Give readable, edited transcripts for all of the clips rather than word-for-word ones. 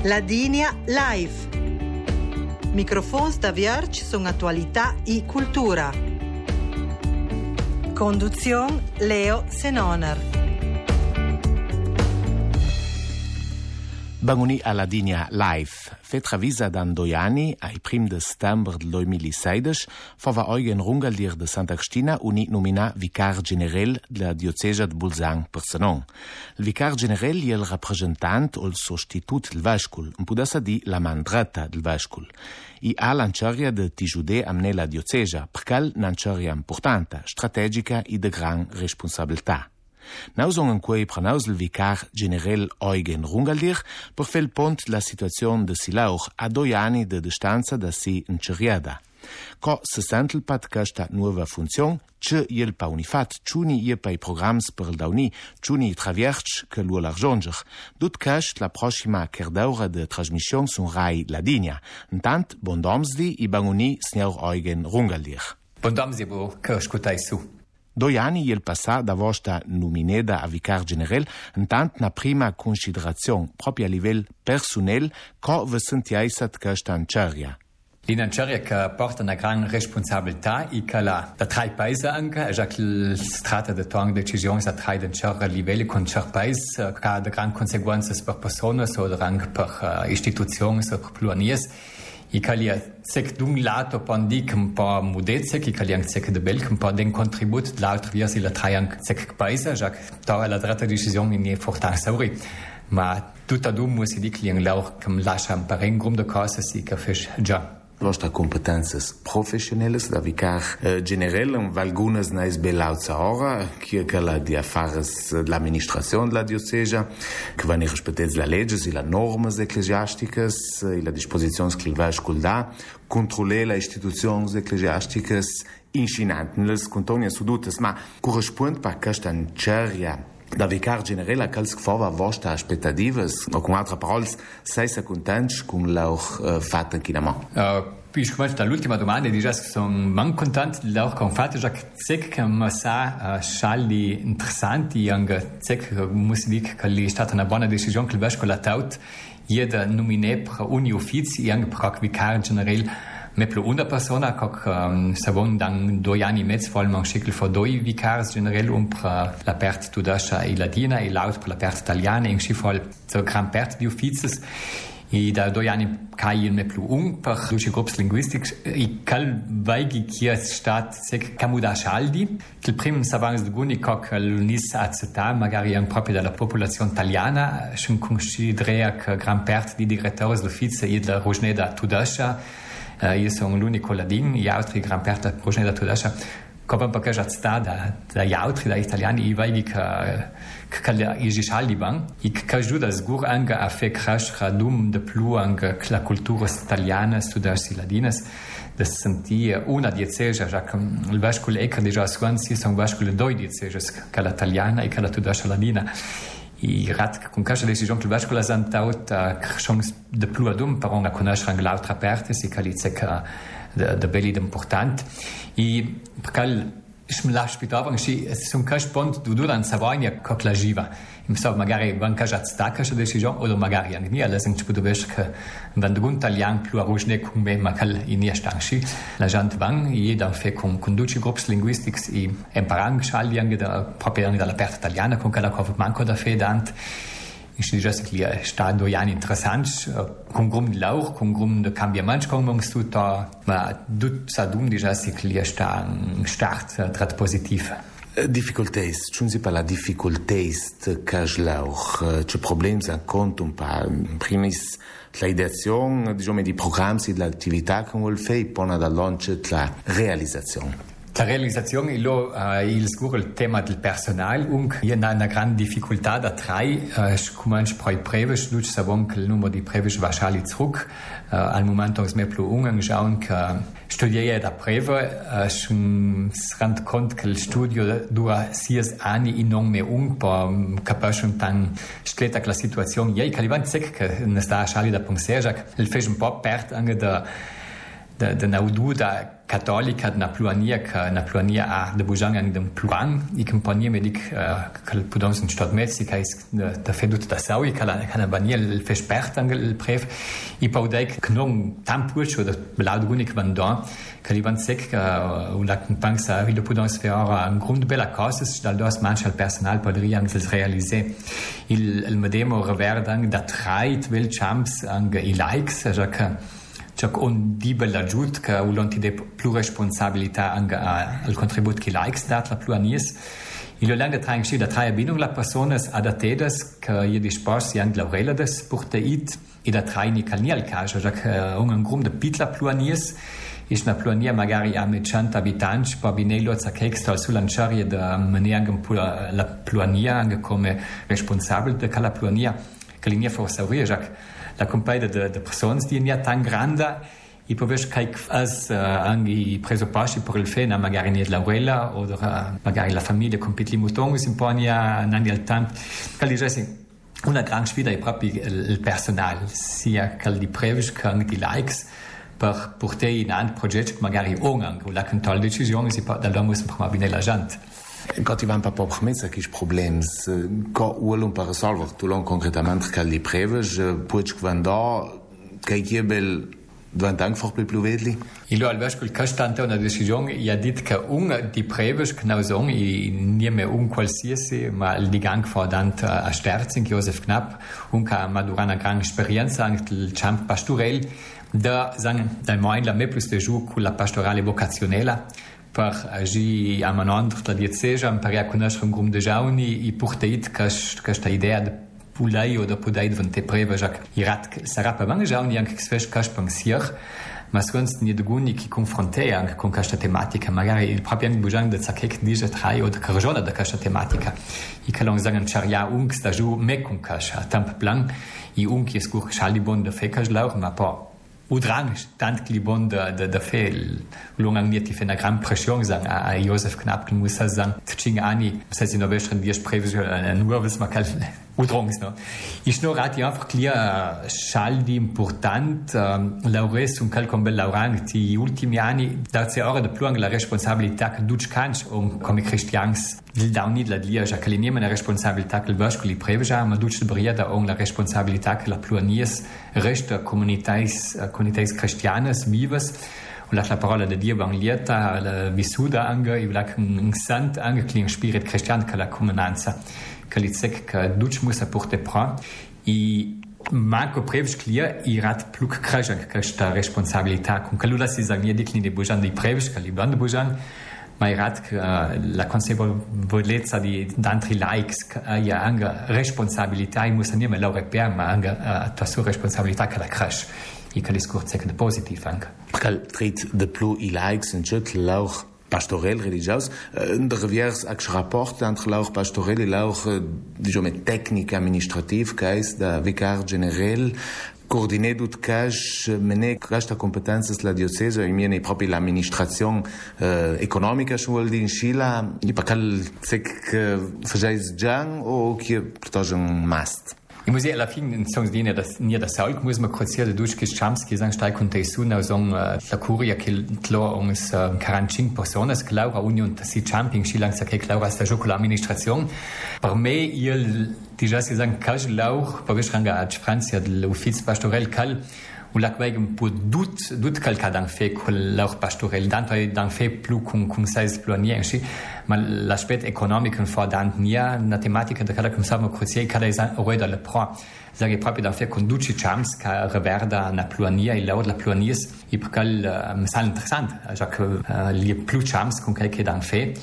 Ladinia Live. Microfons da Vierge sono attualità e cultura. Conduzione Leo Senoner. Banguni a Ladinia Live. Fet ravisa dan 2 anni, ai prim de settembre del 2016, fava Eugen Rungaldir de Sant'Agustina uni nomina vicar general della diocesa de Bolzano per Senon. Il vicar general è il rappresentant o il sostitut del vescul, un pudessa di la man dreta del vescul. I ha l'anciaria de Tijude amne la diocesa, perché l'anciaria importante, strategica e de gran responsabilità. Nous on quei pronaus il vicar general Eugen Rungaldir per fer il pont la situazione de Silauch a 2 anni de distanza da si inceriada. Co se sentel pat questa nuova funzione, ce il pa unifat, ciuni ie pei programs per il dauni, ciuni travierci che lu l'arjonger. Dut quest la prossima kerdaura de trasmission sun Rai Ladinia. Intant, bon domsdi i banguni signor Eugen Rungaldir. Bon domsdi bo che ascoltai su. 2 anni il passà da vostra nomineda a vicar general, intant na prima considerazione, proprio a livello personale, co vi sentiaisat questa anceria. L'inanciaria che porta una gran responsabilità e che la da 3 paesi anche, già che si tratta di tong decisioni a 3 livelli con 3 paesi, che ha gran conseguenze per persone o anche per istituzioni o per pluranies. I calia sec d'un lato pandic un po' mudezze, che calia sec de bel un po' den contribut l'altro via si la traian sec paese, già che ta la dreta decisione in fortan sauri. Ma tutta dum muss di clien lauch che lascia un pareng grum de cose si che fisch già. Vostra competences professionelles da vicar general en valgunas nais belauza ora, che la di affares l'amministrazione della diocesa, che vanno rispettati la legge e la normas ecclesiasticas e la disposizione che il vescovo dà, controllare le istituzioni ecclesiasticas incinantes, contonia sudutes, ma corrisponde per questa anceria da vicar general a quels fava vostra aspettatives, o con altre parole, sei contenti con l'auch fatto in Kinama? Ich möchte l'ultima domanda di già sono man contento l'auch con fatto già che ma sa schalli interessanti anche che muss dire che è stata una buona decisione che il vescovo ha taut jeder nomine per ogni ufficio e anche per vicar general me plu una persona che savon dan 2 anni e mezzo vol man schickl for 2 vicars general per la perte tudascia e ladina e l'aut per la perte italiana in schifol so gran perte di uffices e da 2 anni kai me plu per luci grups linguistics e cal vaigi che stat sec camuda schaldi il prim savans de guni coc l'unis aceta magari anche proprio della popolazione italiana schon considera che gran perte di direttori d'ufficio e da Rogneda tudascia. Io sono l'unico ladin, gli altri gran parte del progetto da Tudascia. Come perché già sta dagli altri, dagli italiani, i vai che i giscialdi van, e che aiuta sicuro anche a fare crescere di più anche la cultura italiana, studarsi ladinas, da sentire una diocesa, già che il vescovo è che già si sono vescovi 2 diocese, che l'italiana e che la Tudascia ladina. I rat con questa decisione che il vescovo ha santaut chance de più adum per una conoscere anche l'altra parte si calizze che de belli importante e perché ich me lascio pitava che sono cash pont du dan savania che la giva im so magari van caja stacca questa decisione o magari anche nie alles in pudovesh che van dun talian più a rojne con me ma cal in nie stanchi la gente van jeder fe con conduci groups linguistics e imparang schaldi anche da proprio anche dalla parte italiana con cada cof manco da fedant ich dice che sta 2 anni interessant con grum di lauch con grum de cambiamento con tutto ma tut sa dum dice che sta start trat positiv. Difficultés, schon si per la difficultés che lauch, c'è problemi a conto un pa primis la ideazione, diciamo di programmi e dell'attività che vuol fare poi da launch la realizzazione. La realizzazione è il tema del personale und hier una gran difficoltà da 3 cominci poi previsch luce savon che il numero di previsch va scali zurück al momento es mehr più schauen che studiare da preve schon rand cont che il studio dura 6 anni e non mehr per capace tan scelta la situazione ei calivan sec che ne sta scali da pensare il fece un po' pert anche da naudu da cattolica na pluania a de bujang ang dem pluang I compagnia medic kal pudons in stat Mexica is da fedut da saui kala baniel fespert ang il prev I paudek knom tampurcho da belaud unik vandon kalivan sec un la compansa il pudons faire un grund bella causes dal dos manchal personal podria ang réaliser il medemo reverdang da trait vel champs ang I likes Ciò on dibe l'aggiut che ulonti de più responsabilità anche al contribut che likes dat la pluanies. Il lang de traing da traia binung la personas adatedas che je dispos yang laurela des porte it I da traini calnial caja che un grum de pitla pluanies is na pluania magari a 100 abitanti pa binello za kextal sullanciarie da maniangam la pluania anche come responsabile de la pluania che linia forse la compagnia de personas di nia tan granda I poveš kaj as angi presupposti per il fena magari niet l'aurela o magari la famiglia completely mutongus in ponia nandi al temp calli una gran sfida è proprio il personale sia cal di previs che anche di likes per portare in un progetto magari ongang o la control decisione si da lo muss prima bine la gente. Quand il va pas permettre quis problems quand ou per resolver tu long concretamente cal di previs puch quando kai gebel Dov'è einfach più vedli? Io al vescovo il costante una decisione ha detto che un di preves che non sono nie mehr qualsiasi ma il digang fordant a Sterzing Josef Knapp un che madurana gran esperienza anche il champ pastorel da sagen da mein la me plus de jour con la pastorale vocazionella per agire a manondre la diocesa per a conoscere un gruppo de giovani e portare questa idea de Pulai oder Pudai von te preva jak irat sarà per mange giorni anche che sfes cash pensier ma sonst nie de guni che confronte anche con questa tematica magari il proprio anche bujang de zakek diese drei oder karjona de questa tematica I kalong sagen charia ungs da ju me con cash tamp plan I unki es gur schalibon de fekas lauch ma po udrang tant libon de fel longang nie die fena gran pression sagen a Josef Knapp muss sagen tching ani das in der western die spreche nur was man kann udrongs no ich nur rati einfach clear schaldi important laures un calcom bel laurang ti ultimi anni da se ora de pluang la responsabilità che duc cans come cristians il dauni la lia ja caliniem la responsabilità che il vascoli preveja ma duc briada la responsabilità che la pluanies resta comunitais cristianas vivas und la parola de Dio banglieta la vissuda anche I vlak un sant anche kling spirit cristian che la comunanza che li sec che duc muss porte pra I manco prevs clear I rat pluk kraja questa responsabilità con che lui si sagni di clini bujan di prevs che li bande bujan ma I rat la consapevolezza di d'altri likes ja anche responsabilità I muss nie mehr laure per ma anche la sua responsabilità che la crash I che discorso che de positiv anche Cal trit de plu I likes en chet lauch pastorel religios de reviers ac rapport entre lauch pastorel et lauch diciamo tecnica administrativ cais da vicar general coordiner dut cash mene questa competenza la diocesa I miei proprio l'amministrazione economica vuol dire in Scila I pacal sec fajais giang o che portage un must I musei alla fine sono nie das Saul muss man kurz hier durch Chamski sagen steig und der Suna song la curia che klar uns 45 personas Laura Union das si Camping Skilang sa che Laura sta gioco l'amministrazione per me il di già si sagen cash lauch per ranga a Francia dell'ufficio pastorel cal u la quegem pu dut calca dan fe col lauch pastorel dan fe plu con sais planienci ma l'aspetto economico fordant nia na tematica da cada come sappiamo cruciale cada roeda le pro sage proprio da fe conduci chams ca reverda na pluania I laud la pluanies I percal sal interessant also che li plu chams con che dan fe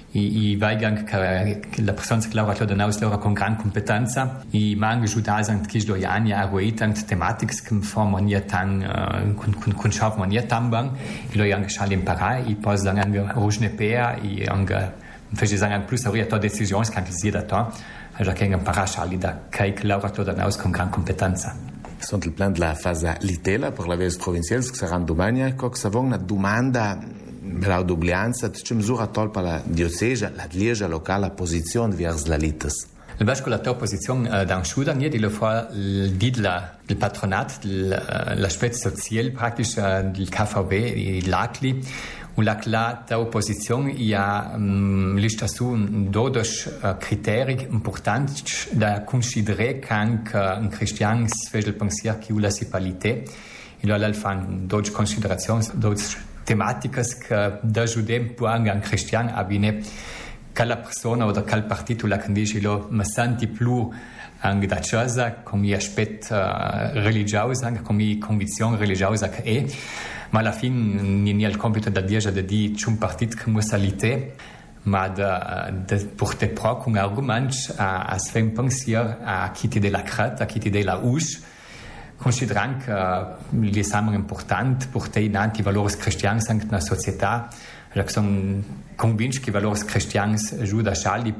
I vaigang la persona che lavora da naus lavora con gran competenza I mangi juda sant che do yani a roetang tematics che formoniert tan con schaf moniert tambang I lo yang schal impara I pos dann ange rujne pea I ange fece sagen plus auria to decisions kan sie da to also che impara schal da kai lavora da naus con gran competenza Sunt il plan de la fase litela per la vez provincials che saranno domani co savon una domanda la dublianza c'è misura tolpa la diocesa la lieja locale posizione vers la lites il vasco la tua posizione da schuda nie di lo fa il patronat l'aspetto sociale praktisch del KVB I lacli la opposizione ha lista su 12 criteri importanti da considerare che anche un cristiano sveglia il pensiero che la sessualità. E allora fanno 12 considerazioni, 12 tematiche che da giudem può anche un cristiano abbine che la persona o che il partito la dice mi senti più anche da chiesa come aspetto religioso, anche come convinzione religiosa che è, ma alla fine non è il compito da dire che c'è un partito che musa l'ite, ma di portare proprio un argomento a sveglia un pensiero a chi ti dà la creta, a chi ti dà la us, considerando che gli sono importanti portare in avanti i valori cristiani anche nella società. Sono convinto che i valori cristiani aiutano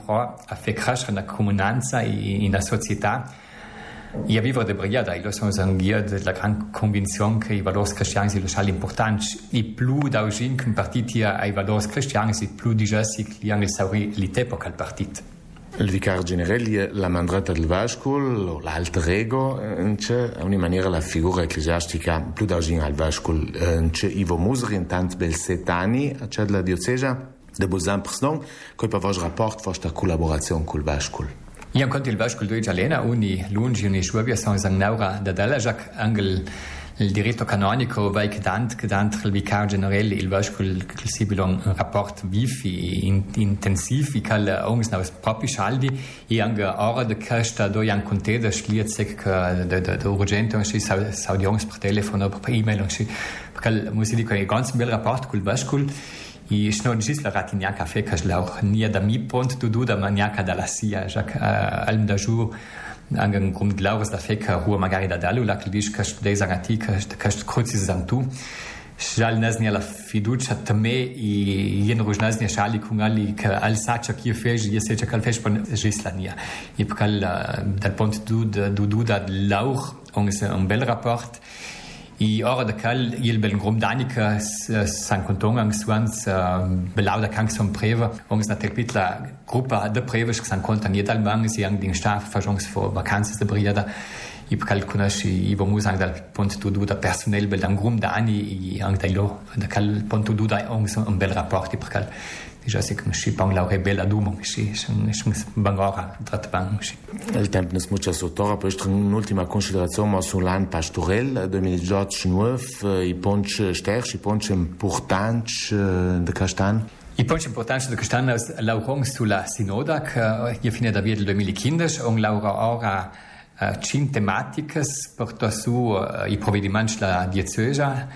a far crescere la comunanza e la società e a vivere di brigata. Io sono della grande convinzione che i valori cristiani sono importanti e più da oggi che un partito ha i valori cristiani e più di gessi che hanno l'autorità per quel partito. Il vicario generale la mandata del Vascul o l'alter ego c'è a una maniera la figura ecclesiastica più da oggi al Vascul c'è Ivo Musri in tanti bel 7 anni c'è la diocesa de Bolzano personale che per vostro rapporto vostra collaborazione col Vascul. Io incontro il Vascul due Alena uni lungi uni suavi sono naura da della Jacques Angel il diritto canonico vai che il vicario generale il Vascul possibile un rapporto vivo e intensivo che ogni nos propri saldi e anche ora de questa doi an conte da schliert sich de urgente si audience per telefono per email perché muss ich ein ganz bel rapport col Vascul e non ci la ratigna caffè che lauch nie da mi pont du da maniaca dalla sia Jacques alm da jour anche un grund glaubes da fecca rua magari da dalu la che dice che dei zanatica che cruci zantu Žal nazni la fiducia tame i jen ružnazni šali kungali che al sacha che fez je secha kal fez pon gislania e pkal dal pont du da lauch un bel rapport i ora da kal il bel grum danica san kontongang swans belauda kank som preva na telpitla gruppa de prevas san kontan jedal mang si ang ding staff fajons for vacances de briada i calculasci i vamos anche dal ponto da personale bel grum da anni anche da cal ponto da un bel rapporto perché già se che si parla la bella dumo si bangora trattabang il tempo ne smuccia sotto poi un'ultima considerazione sull'an pastorel 2019 i ponci sterci i ponci importanti de Castan. I punti importanti da Castan è l'aurong sulla sinoda che fine da via del 2015 un laura ora 5 tematiche porta su i provvedimenti della diocesa.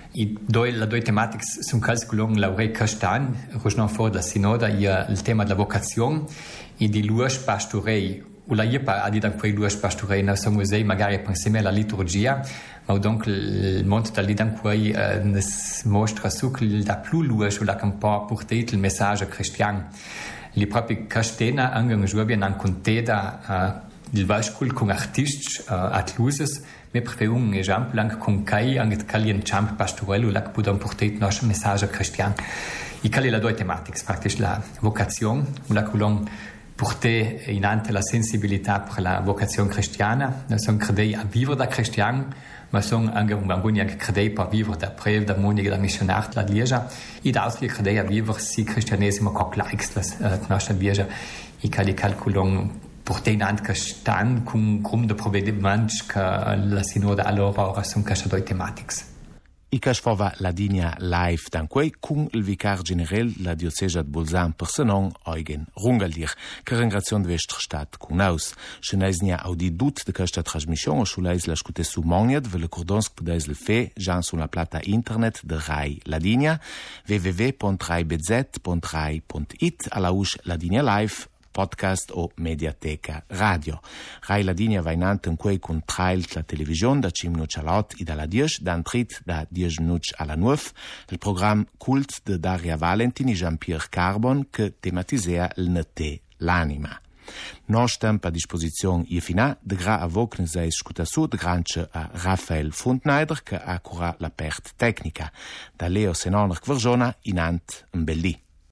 Le due tematiche sono calcolate Laurei Castan, rosno fuori dalla sinoda, il tema della vocazione e di luogo pastorei. La IEPA ha detto che i luoghi pastorei non sono musei, magari pensiamo alla liturgia, ma dunque il mondo da lì qui mostra su che da più luogo la che può portare il messaggio cristiano. Le proprie castena anche un giorno hanno contata il Vascul con artisti atluses, mi prefero un esempio anche con Kai, anche Kai in camp pastorello, che può portare il nostro messaggio cristiano. E Kai la due tematiche, praticamente la vocazione, la che portare in ante la sensibilità per la vocazione cristiana, sono credei a vivere da cristiano, ma sono anche un bambino che credei per vivere da preve, da monica, da missionario, da Lieja, e da altri credei a vivere si cristianesimo con l'Aix, la nostra Lieja, e Kai calcolano portare in ante Castan con un gruppo di provvedimenti che la sinoda allora sono queste due tematiche. I che fava la linea live danquei con il vicario generale la diocesa di Bolzano per Senon, Eugen Rungaldir, che ringrazio di vostra stat con noi. Se ne ha audit di questa trasmissione sulla isla scute su Moniat, ve le cordons che potete fare già sulla plata internet de Rai La Linea, www.raibz.rai.it, alla usce la linea live, podcast o mediateca radio. Rai La Linea va in ante quei con trail la televisione da 5 minuti all'ot e dalla 10 da trit da 10 minuti alla 9 il programma Cult de Daria Valentini Jean-Pierre Carbon che tematisea il nete l'anima. Non stampa a disposizione e fina de gra a voc ne sei scuta su de granche a Raphael Funtneider che ha cura la perte tecnica da Leo Senoner Kverjona in ant un belli.